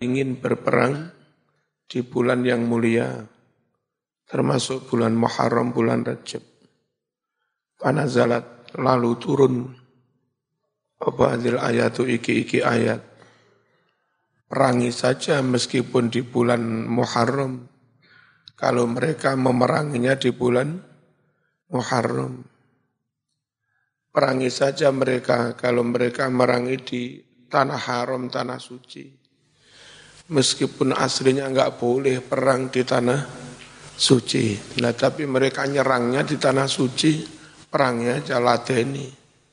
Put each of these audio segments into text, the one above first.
ingin berperang di bulan yang mulia, termasuk bulan Muharram, bulan Rajab. Panazalat, lalu turun apa hadil ayatu iki ayat. Perangi saja meskipun di bulan Muharram, kalau mereka memeranginya di bulan Muharram. Perangi saja mereka kalau mereka merangi di tanah haram, tanah suci. Meskipun aslinya enggak boleh perang di tanah suci. Nah, tapi mereka nyerangnya di tanah suci, perangnya aja ladeni.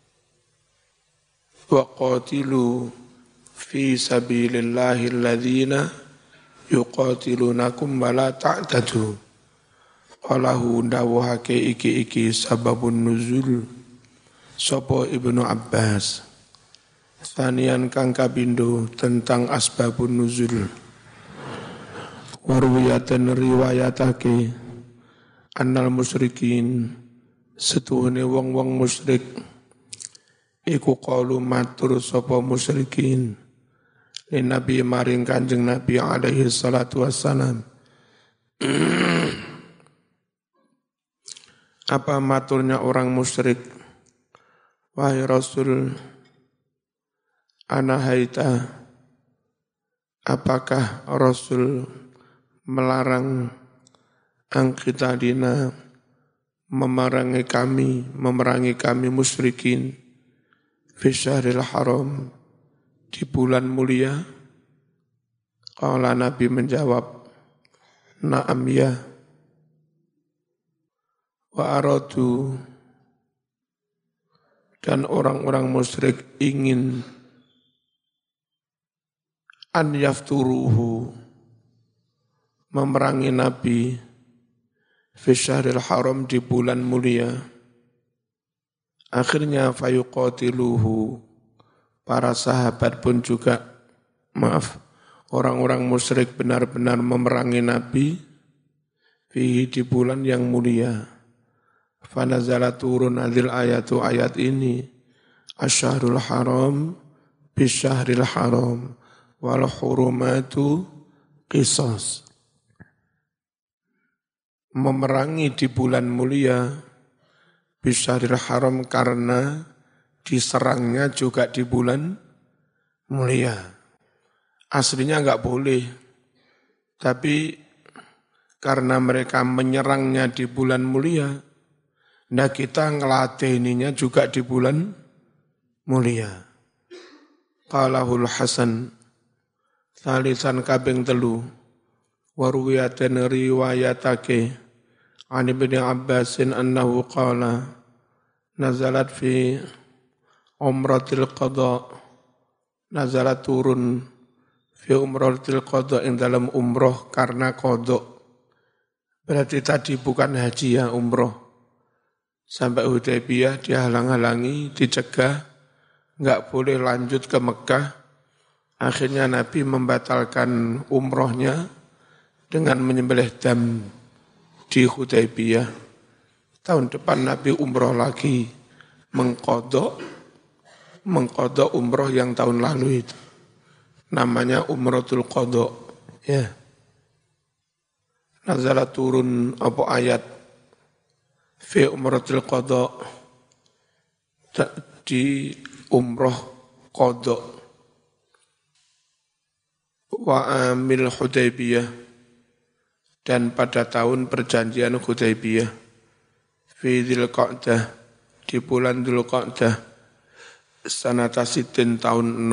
Wa qatilu fi sabilillahi alladhina yuqatilunakum wa la ta'tadu. Qalahu dawuhake iki sababun nuzul sapa Ibnu Abbas. Sanian kang kapindo tentang asbabun nuzul. Warwiyatan riwayatake annal musyrikin setuhune wong-wong musyrik iku qalu matur sapa musyrikin li Nabi maring Kanjeng Nabi alaihi salatu wassalam. Apa maturnya orang musyrik? Wahai Rasul, ana haita, apakah Rasul melarang angkitadina memerangi kami musyrikin fi syahril haram di bulan mulia? Qala Nabi menjawab, na'am ya. Wa aradu, dan orang-orang musyrik ingin an yafturuhu memerangi Nabi fi syahril haram di bulan mulia. Akhirnya fayuqatiluhu, para sahabat pun juga, orang-orang musyrik benar-benar memerangi Nabi fihi di bulan yang mulia. Fanazala turun adil ayatu ayat ini, asyahrul haram bisyahril haram wal hurumatu qisas. Memerangi di bulan mulia bisyahril haram karena diserangnya juga di bulan mulia. Aslinya enggak boleh, tapi karena mereka menyerangnya di bulan mulia, nah kita ngelatihininya juga di bulan mulia. Qalahul Hasan, thalithan kabing telu, warwiyatan riwayatake, an Ibn Abbasin annahu qala, nazalat fi umratil qadha, nazalat turun fi umratil qadha, yang dalam umroh karena qadha. Berarti tadi bukan haji ya, umroh. Sampai Hudaybiyah dihalang-halangi, dicegah, enggak boleh lanjut ke Mekah. Akhirnya Nabi membatalkan umrohnya dengan menyembelih dam di Hudaybiyah. Tahun depan Nabi umroh lagi, mengkodok umroh yang tahun lalu itu. Namanya umrotul qadha. Ya. Nazalat turun apa ayat fi umratil qadha, di umroh qadha. Wa amil Hudaybiyah, dan pada tahun perjanjian Hudaybiyah, fi Dzulqa'dah, di bulan Dzulqa'dah, sanata sitin tahun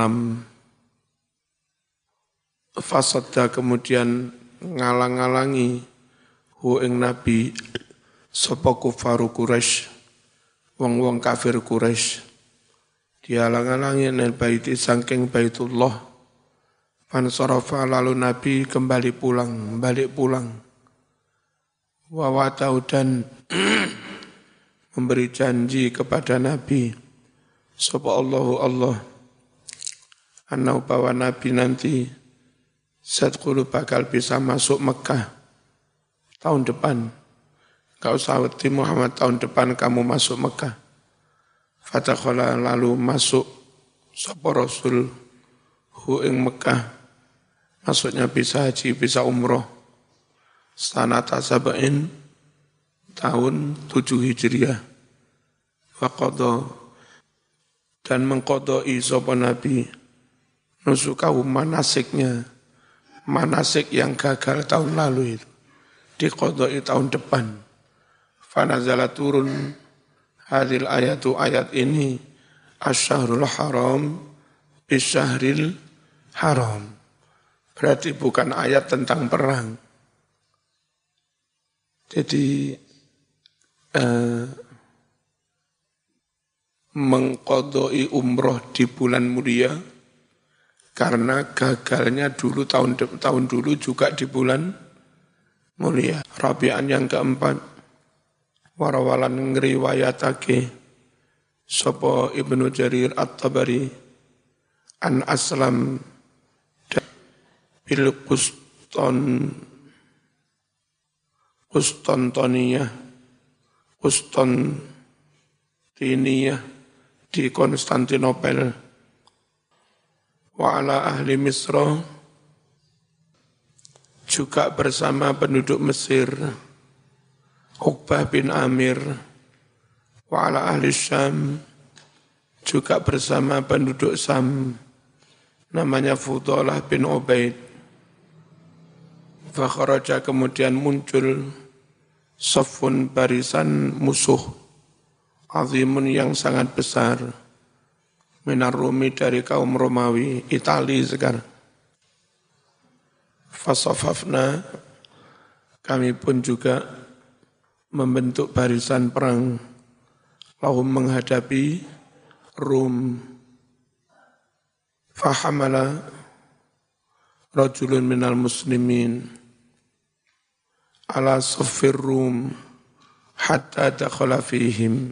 6. Fasadda, kemudian ngalang-alangi hu ing Nabi sapa kufaru Quraisy, wong-wong kafir Quraisy, dihalang-halangi nel baiti saking Baitullah. Fansarafa, lalu Nabi balik pulang. Wa watau, dan memberi janji kepada Nabi sapa Allah anau bahwa Nabi nanti sadqulu bakal bisa masuk Mekah tahun depan. Kau sawati Muhammad, tahun depan kamu masuk Mekah. Fatakhala, lalu masuk sapa Rasul hu ing Mekah Maksudnya bisa haji, bisa umroh. Sanata sab'in tahun 7 Hijriah. Faqadha dan mengqadai sapa Nabi nusukahu manasiknya. Manasik yang gagal tahun lalu itu diqadai tahun depan. Fanazala turun hadil ayatu ayat ini asy-syahrul haram bisyahril haram. Berarti bukan ayat tentang perang. Jadi mengqadai umroh di bulan mulia karena gagalnya dulu tahun dulu juga di bulan mulia. Rabi'an yang keempat, warawalan ngriwayatake sapa Ibnu Jarir At-Tabari an Aslam bil Konstantiniyah di Konstantinopel wa ala ahli Misra juga bersama penduduk Mesir Uqbah bin Amir wa ala ahli Syam juga bersama penduduk Sam namanya Fudalah bin Ubaid. Fakharaja kemudian muncul safun barisan musuh azimun yang sangat besar minar Rumi dari kaum Romawi, Itali sekarang. Fasafafna kami pun juga membentuk barisan perang lahum menghadapi Rum. Fahamala rajulun minal muslimin ala saffir Rum hatta dakhala fihim.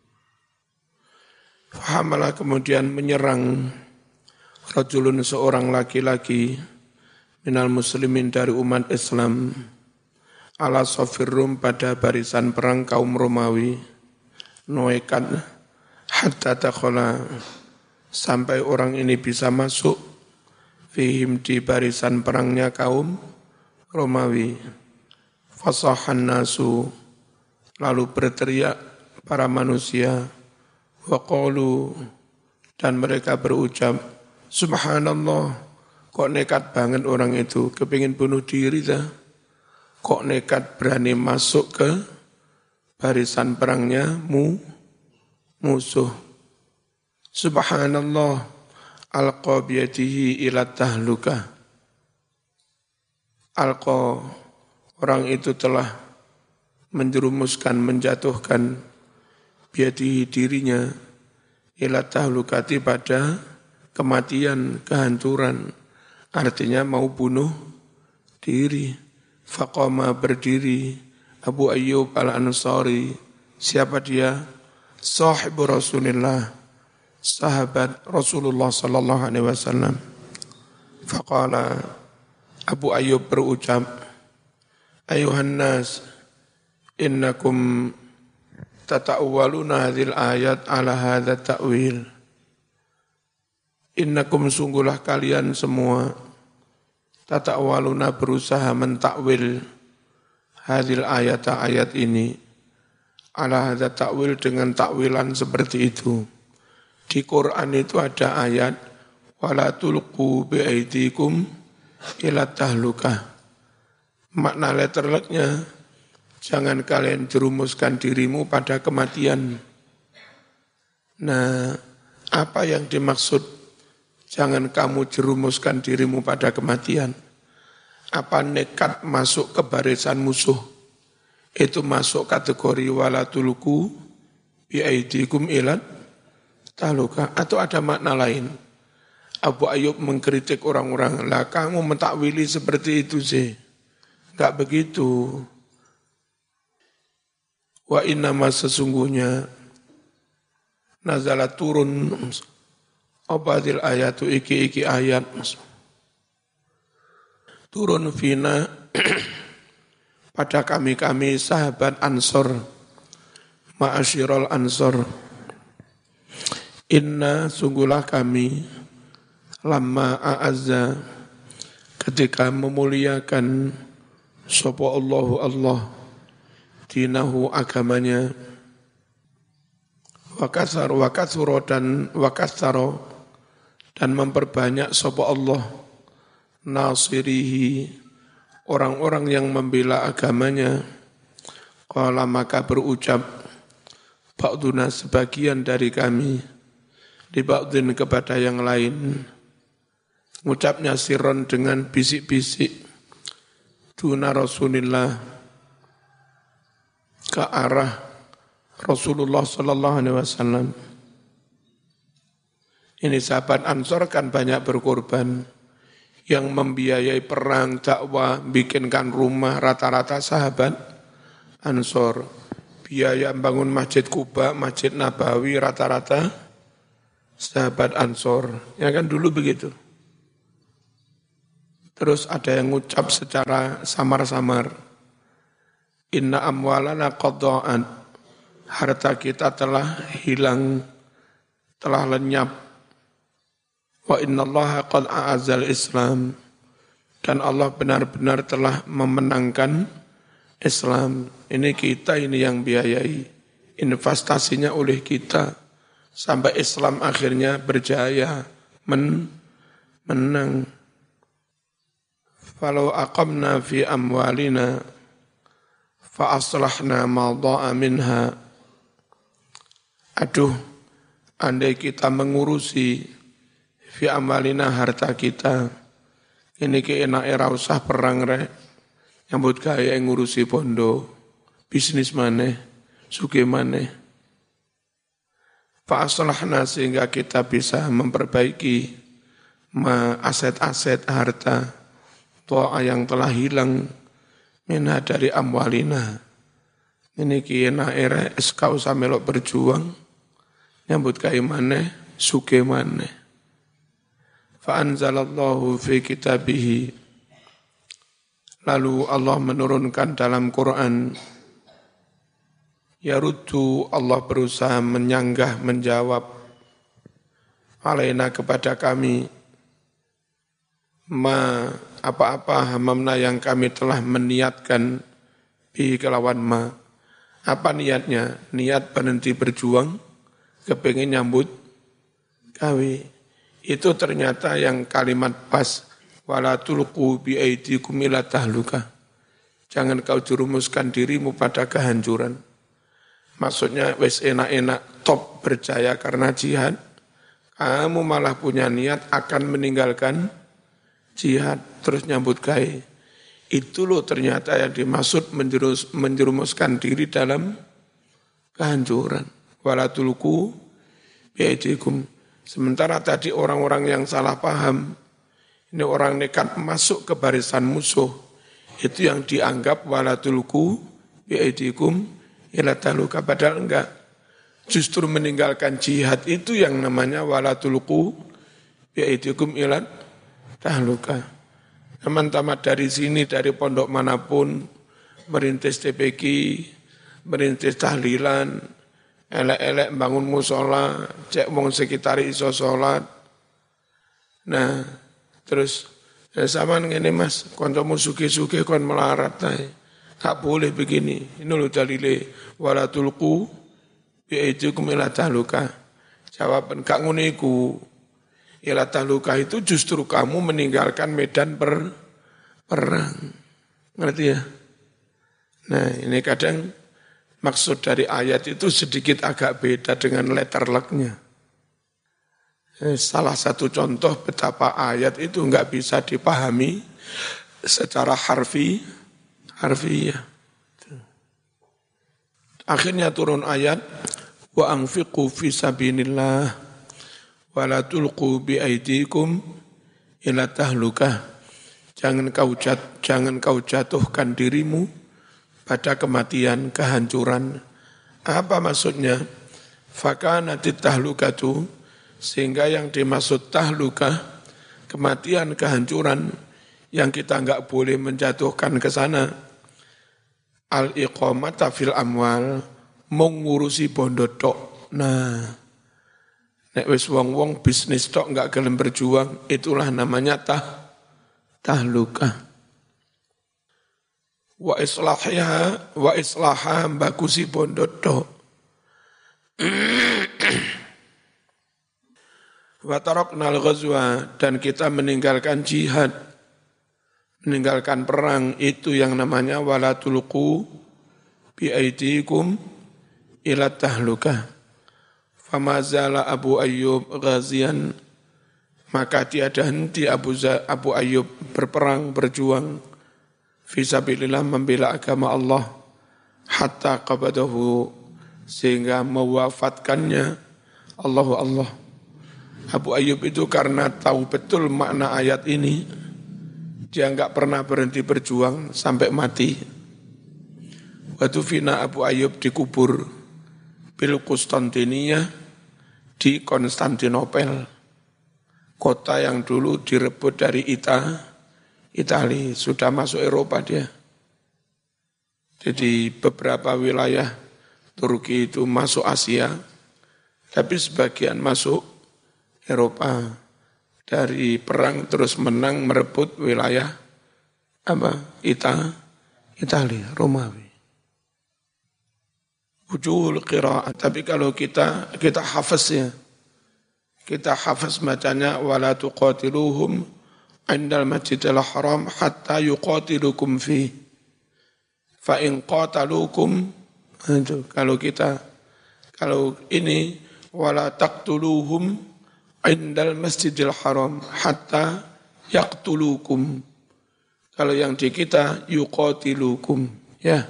Fahamala kemudian menyerang rajulun seorang laki-laki minal muslimin dari umat Islam ala saffir Rum pada barisan perang kaum Romawi noekat hatta dakhala sampai orang ini bisa masuk fihim di barisan perangnya kaum Romawi. Fasahan nasu lalu berteriak para manusia wa qalu dan mereka berucap subhanallah, kok nekat banget orang itu kepingin bunuh diri dah, kok nekat berani masuk ke barisan perangnya musuh. Subhanallah alqa biyadihi ila tahlukah. Alqa orang itu telah menjerumuskan, menjatuhkan biyadihi dirinya ila tahlukati pada kematian, kehancuran. Artinya mau bunuh diri. Faqama berdiri Abu Ayyub al-Ansari. Siapa dia? Sahibu Rasulullah, sahabat Rasulullah sallallahu alaihi wasallam. Faqala Abu Ayyub berucap, ayuhan nas innakum tata'awwaluna hadhil ayat ala hadha ta'wil. Innakum sungguhlah kalian semua tata'awwaluna berusaha mentakwil hadhil ayat ini ala hadha ta'wil dengan takwilan seperti itu. Di Quran itu ada ayat wala tulqu biaidikum ila tahlukah. Makna letterleknya, jangan kalian jerumuskan dirimu pada kematian. Nah, apa yang dimaksud jangan kamu jerumuskan dirimu pada kematian? Apa nekat masuk ke barisan musuh? Itu masuk kategori wala tulqu biaidikum ila tahlukah, atau ada makna lain? Abu Ayyub mengkritik orang-orang, lah kamu mentakwili seperti itu sih. Enggak begitu. Wa innama sesungguhnya nazala turun abadil ayatu iki ayat turun fina pada kami sahabat Ansor, ma'asyiral Ansor. Inna sungguhlah kami lamma a'azza ketika memuliakan sapa Allahu Allah dinahu agamanya wa katsara dan memperbanyak sapa Allah nasirihi orang-orang yang membela agamanya. Qala maka berucap ba'duna sebagian dari kami di ba'din kepada yang lain, ngucapnya sirron dengan bisik-bisik duna Rasulillah ke arah Rasulullah sallallahu alaihi wasallam. Ini sahabat Ansor kan banyak berkorban, yang membiayai perang, dakwah, bikinkan rumah rata-rata sahabat Ansor. Biaya bangun Masjid Kuba, Masjid Nabawi rata-rata sahabat Ansor. Ya kan dulu begitu. Terus ada yang ngucap secara samar-samar, inna amwalana qadda'an, harta kita telah hilang, telah lenyap. Wa innallaha qad a'azzal Islam, dan Allah benar-benar telah memenangkan Islam. Ini kita ini yang biayai, investasinya oleh kita, sampai Islam akhirnya berjaya, menang. Falau aqamna fi amwalina fa aslahna ma dha'a minha. Aduh, andai kita mengurusi fi amalina harta kita, ini keenak era usah perang rek, nyambut gaya ngurusi bondo, bisnis maneh, suge maneh. Fa aslahna sehingga kita bisa memperbaiki aset-aset harta toa yang telah hilang minha dari amwalina. Ini keenak era eskau samelok berjuang, nyambut gaya maneh, suge maneh. Fa'anzalallahu fi kitabihi, lalu Allah menurunkan dalam Quran, yaruddu, Allah berusaha menyanggah, menjawab, alaina kepada kami, apa-apa hamamna yang kami telah meniatkan, bi kelawan ma. Apa niatnya? Niat berhenti berjuang, kepingin nyambut gawe. Itu ternyata yang kalimat pas, wala tulqu bi aidikum ila tahluka. Jangan kau jerumuskan dirimu pada kehancuran. Maksudnya wis enak-enak top berjaya karena jihad, kamu malah punya niat akan meninggalkan jihad terus nyambut gawe. Itu loh ternyata yang dimaksud menjerumuskan diri dalam kehancuran. Wala tulqu bi aidikum. Sementara tadi orang-orang yang salah paham, ini orang nekat masuk ke barisan musuh, itu yang dianggap wala tulqu bi aidikum ila tahluka, padahal enggak. Justru meninggalkan jihad itu yang namanya wala tulqu bi aidikum ila tahluka. Teman-teman dari sini, dari pondok manapun, merintis TPQ, merintis tahlilan, elek-elek bangun musola, cek wong sekitar iso sholat. Nah, terus sama ngene Mas, kancamu sugih-sugih kon melarat ae. Tak boleh begini. Ini lho dalile wala tulqu bi aidikum ila tahluka. Jawaban gak ngono iku. Ila tahluka itu justru kamu meninggalkan medan perang. Ngerti ya? Nah, ini kadang maksud dari ayat itu sedikit agak beda dengan letter luck-nya. Salah satu contoh betapa ayat itu enggak bisa dipahami secara harfiah. Akhirnya turun ayat, wa anfiqu fi sabilillah wa la tulqu bi aidikum ila tahlukah. Jangan kau jatuhkan dirimu pada kematian, kehancuran. Apa maksudnya? Fakanatit tahlukatu, sehingga yang dimaksud tahlukah, kematian, kehancuran, yang kita enggak boleh menjatuhkan ke sana. Al-iqamata fil amwal, mengurusi bondo tok. Nah, nek wis wong-wong bisnis tok enggak gelem berjuang, itulah namanya tahlukah. Wa islaha bagusi bondodo. Wa taraknal ghazwa, dan kita meninggalkan jihad, meninggalkan perang, itu yang namanya wala tulqu bi aidikum ila tahlukah. Fama zala Abu Ayyub ghazian, maka tiada henti Abu Ayyub berperang, berjuang fisabilillah, membela agama Allah, hatta qabadahu, sehingga mewafatkannya Allah. Abu Ayyub itu karena tahu betul makna ayat ini, dia enggak pernah berhenti berjuang sampai mati. Waktu fina Abu Ayyub dikubur bil Konstantinia, di Konstantinopel, kota yang dulu direbut dari Italia, sudah masuk Eropa dia. Jadi beberapa wilayah Turki itu masuk Asia, tapi sebagian masuk Eropa. Dari perang terus menang merebut wilayah Italia, Romawi. Wujuhul qira'ah, tapi kalau kita hafaz ya. Kita hafaz bacanya wala tuqatiluhum indal masjidil haram hatta yuqatilukum fi. Fa in qatalukum, itu kalau ini wala taqtuluhum indal masjidil haram hatta yaqtulukum. Kalau yang di kita yuqatilukum, ya.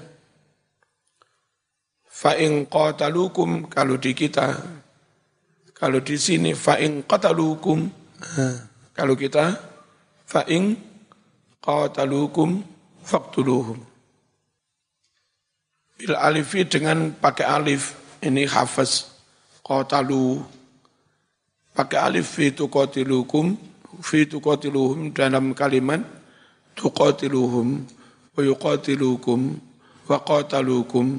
Fa in qatalukum, kalau di kita, kalau di sini fa in qatalukum, kalau kita fa in qatalukum faqtuluhum. Bil alifi, dengan pakai alif, ini hafaz qatalu, pakai alif fi tuqatiluhum dalam kalimat tuqatiluhum wa yuqatilukum wa qatalukum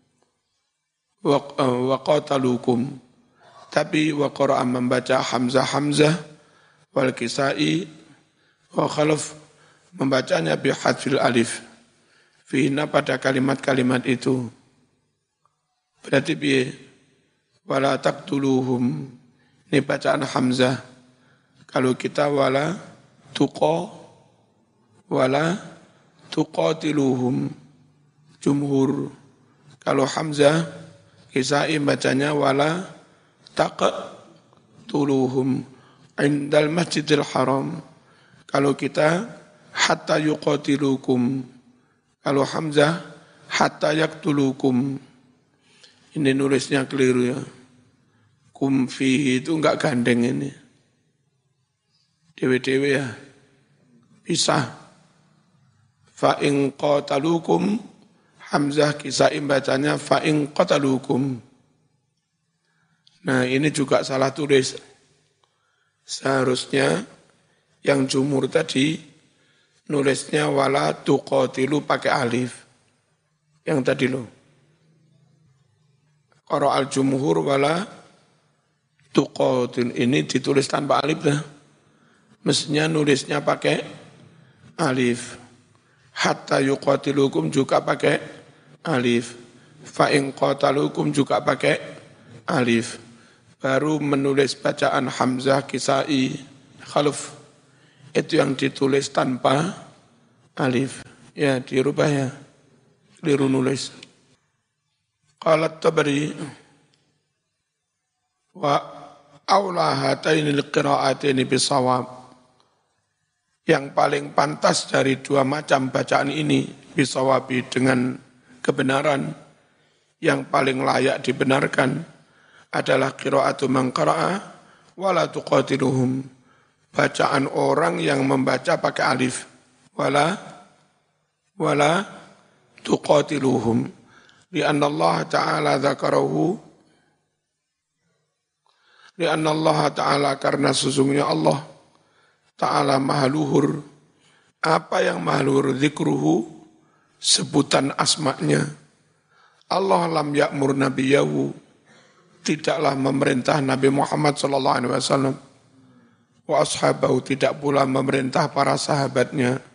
wa qatalukum. Tapi wa qara'a membaca Hamzah wal Kisai wa Khalaf membacanya bi hadfil alif fihna, pada kalimat-kalimat itu. Berarti bi wala taqtuluhum, ini bacaan Hamzah. Kalau kita wala tuqatiluhum jumhur. Kalau Hamzah Kisai bacanya wala taqtuluhum indal masjidil haram. Kalau kita hatta yuqatilukum. Kalau Hamzah hatta yaqtulukum. Ini nulisnya keliru ya. Kum fihi itu enggak gandeng ini. Dewe-dewe ya. Pisah. Fa in qatalukum, Hamzah Kisai bacanya fa in qatalukum. Nah, ini juga salah tulis. Seharusnya yang jumhur tadi nulisnya wala tuqatilu pakai alif. Yang tadi loh. Qara al-jumhur wala tuqatil, ini ditulis tanpa alif dah. Mestinya nulisnya pakai alif. Hatta yuqatilukum juga pakai alif. Fa in qatalukum juga pakai alif. Baru menulis bacaan Hamzah, Kisai, Khalaf, itu yang ditulis tanpa alif. Ya, dirubah ya. Keliru nulis. Qalat Tabari wa aula hatainil qira'ataini bisawab. Yang paling pantas dari dua macam bacaan ini bisawabi, dengan kebenaran, yang paling layak dibenarkan adalah qira'atu man qara'a wala tuqatiluhum, bacaan orang yang membaca pakai alif, wala tuqatiluhum, lianna Allah Ta'ala dzakarahu, lianna Allah Ta'ala, karena sesungguhnya Allah Ta'ala maha luhur. Apa yang maha luhur? Zikruhu, sebutan asma'nya. Allah lam ya'mur nabiyahu, tidaklah memerintah Nabi Muhammad SAW wa ashabahu tidak pula memerintah para sahabatnya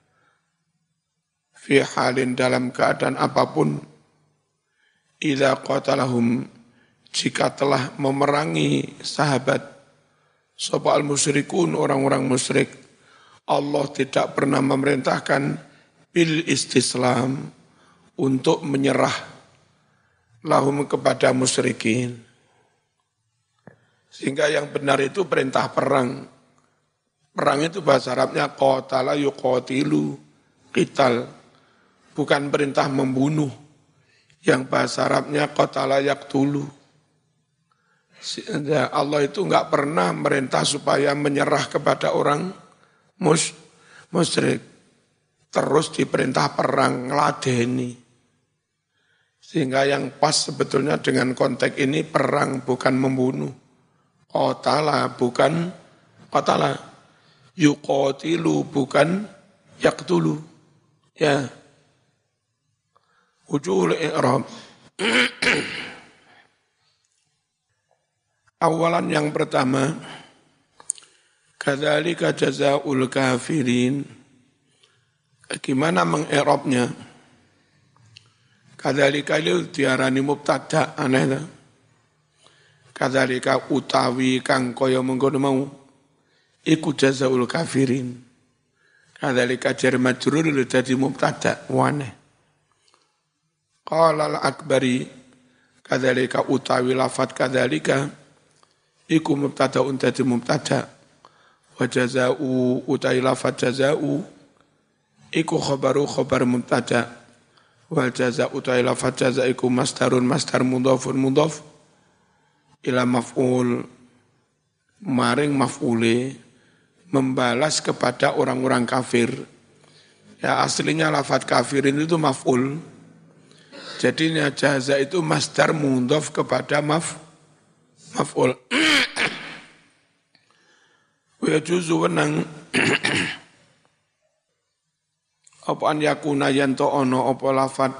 fi halin dalam keadaan apapun idza qatalahum jika telah memerangi sahabat sapa al-musyrikun orang-orang musyrik Allah tidak pernah memerintahkan bil istislam untuk menyerah lahum kepada musyrikin. Sehingga yang benar itu perintah perang. Perang itu bahasa Arabnya qatala yuqatilu qital. Bukan perintah membunuh. Yang bahasa Arabnya qatala yaqtulu. Allah itu enggak pernah merintah supaya menyerah kepada orang musyrik. Terus diperintah perang, ngeladeni. Sehingga yang pas sebetulnya dengan konteks ini perang bukan membunuh. Qatala bukan qatala. Yuqatilu bukan yaqtulu. Ya. Wujuhul i'rab. Awalan yang pertama, kadzalika jazaa'ul kafirin. Gimana mengi'rabnya? Kadzalika itu diarani mubtada, aneh tak? Kadzalika utawi kang kaya mengkono mau iku jazaul kafirin. Kadzalika jar majrur dadi mubtada waneh. Qala al-Akbari kadzalika utawi lafat kadzalika iku mubtada dadi mubtada wa jazaa'u utawi lafat jazaa'u iku khabar mubtada wal jazaa'u utawi lafat jazaa iku masdarun masdar mudhafun mudhaf ila maf'ul maring maf'ule membalas kepada orang-orang kafir. Ya aslinya lafaz kafirin itu maf'ul. Jadinya jaza itu masdar mudhaf kepada maf'ul. Wa juzu wenang apa an yakuna yanto ono apa lafaz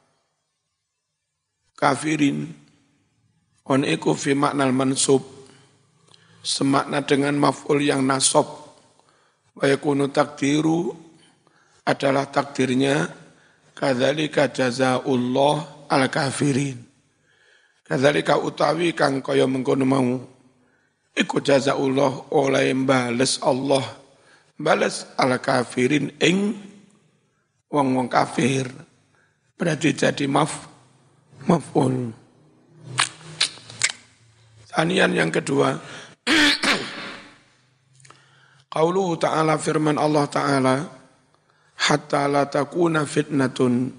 kafirin on iku fi maknal mansub semakna dengan maf'ul yang nasab wa yakunu takdiru adalah takdirnya kadzalika jazaa'ullah al kafirin kadzalika utawi kang kaya mengkono mau iku jazaa'ullah oleh bales Allah bales al kafirin ing wong-wong kafir berarti jadi maf'ul. Anian yang kedua, qauluhu ta'ala firman Allah Ta'ala, hatta la takuna fitnatun,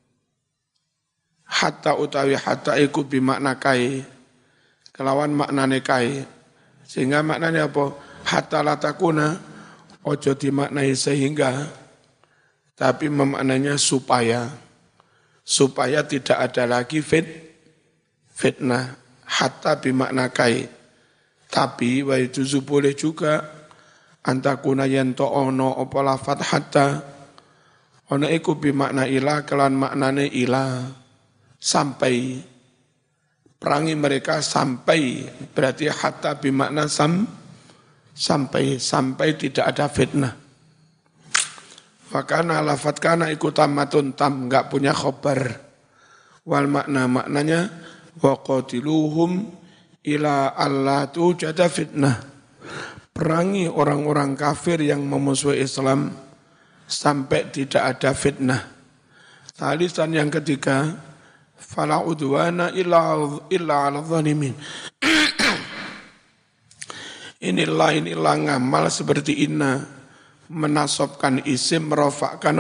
hatta utawi hatta iku bimakna kai, kelawan maknane kai, sehingga maknanya apa? Hatta la takuna, ojo dimaknai sehingga, tapi memaknanya supaya tidak ada lagi fitnah. Hatta bimakna kai. Tapi wa juzu boleh juga antakuna yanto ono apa lafat hatta ono iku bimakna ila kelan maknane ila sampai perangi mereka sampai berarti hatta bimakna sampai tidak ada fitnah. Fakana lafat kana iku tamatun tam enggak punya khobar wal maknanya wa qatiluhum ila alla tujada fitnah. Perangi orang-orang kafir yang memusuhi Islam sampai tidak ada fitnah. Talisan yang ketiga, fala udwana illa 'ala zalimin. Inilah ngamal seperti inna menasabkan isim merofakkan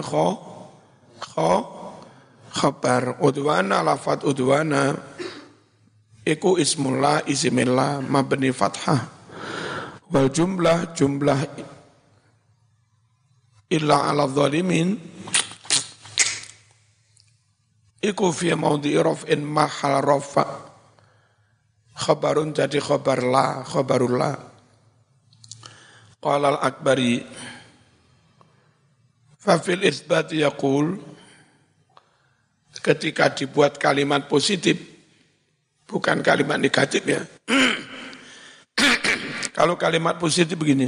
khabar udwana lafat udwana iku ismullah isimillah mabni fathah wal jumlah illa 'ala zalimin iku fi maudhi'i raf'in mahal rafa khabarun jadi khabarullah qala al-Akbari fa fil isbat yaqul ketika dibuat kalimat positif bukan kalimat negatif ya. Kalau kalimat positif begini,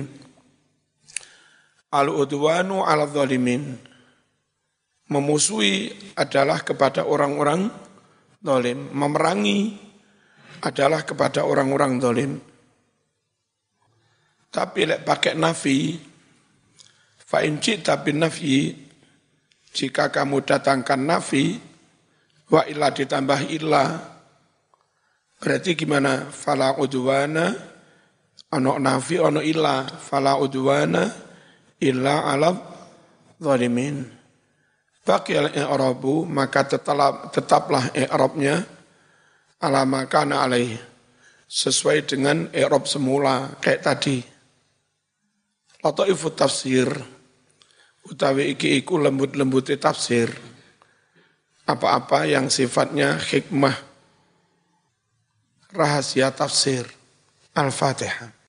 al-udwanu 'ala dzalimin. Memusuhi adalah kepada orang-orang zalim, memerangi adalah kepada orang-orang zalim. Tapi lek pakai nafi, fa in ji'ta bin nafyi, jika kamu datangkan nafi, wa illa ditambah illa, berarti gimana? Fala udwana, ono nafi, ono illa, fala udwana illa 'ala zalimin. Baqiyal i'rabu, maka tetaplah i'rabnya ala makana alaih, sesuai dengan i'rab semula kayak tadi. Lataifut tafsir, utawi iki iku lembut-lembuti tafsir, apa-apa yang sifatnya hikmah, rahasia tafsir. Al-Fatihah.